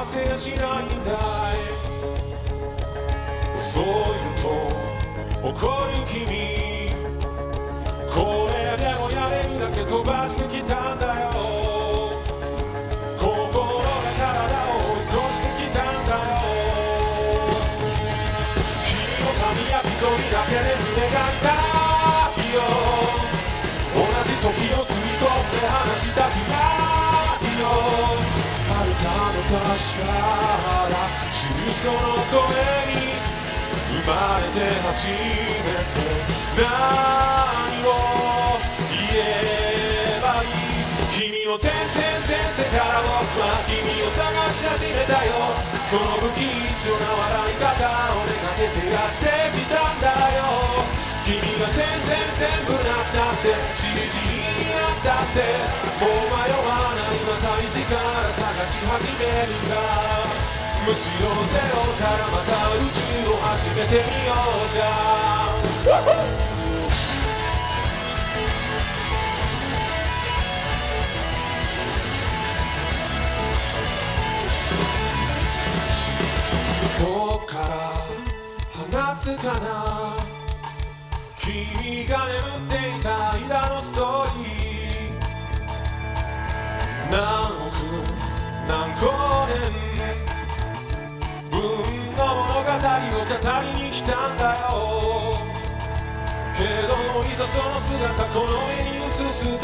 せやしないんだい。そう言うと怒る君、これでもやれるだけ飛ばしてきたんだよ。心が体を追い越してきたんだよ。君の髪や一人だけで胸が痛いよ。同じ時を吸い込んで話したくないよ。遥か昔から知るその声に生まれて初めて何を言えばいい。君を全世から僕は君を探し始めたよ。その不吉祥な笑い方をめがけてやってきたんだよ。君が全部なったってちりぢりになったってもう迷わない。また一から探し始めるさ。むしろゼロからまた宇宙を始めてみようか。どこから話すかな。君が眠っていた間のストーリー。何億何光年分の物語を語りに来たんだよ。けどいざその姿この目に映すと、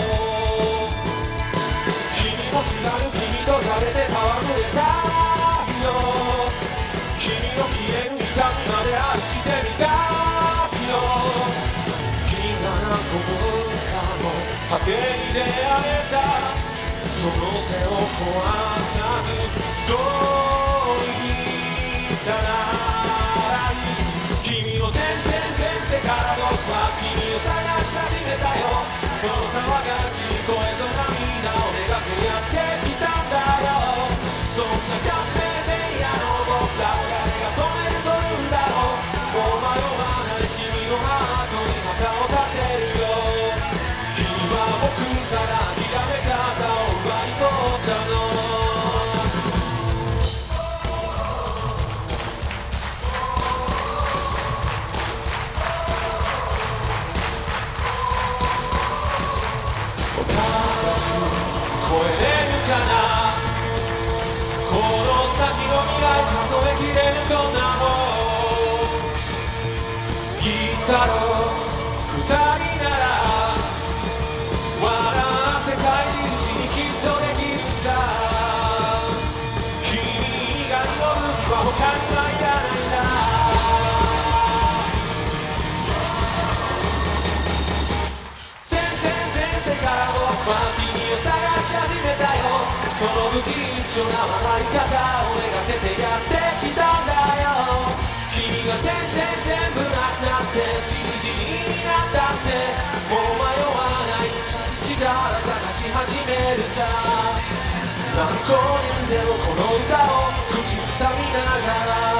君も知らぬ君とじゃれて戯れたいよ。君の消える痛みまで愛してみたいよ。君が何個分かの果てに出会えたその手を壊さずどういったらいい。君の全世から僕は君を探し始めたよ。その騒がしい声と涙をめがけやってきたんだよ。そんな革命前夜の僕らを誰が止めるというんだろう。もう迷わない君のハートに旗を立てるよ。君は僕からひらめ方を奪い取ったの。私たち超えれるかな。この先の未来数えきれるこんなもん。言ったろ二人なら笑って帰り道にきっとできるさ。君以外の武器は他にはいらないんだ。全世から僕は君を探し始めたよ。その不吉祥な笑い方をめがけてやってきたんだよ。君が全部なくなってちりぢりになったってもう迷わない。一から探し始めるさ。何光年でもこの歌を口ずさみながら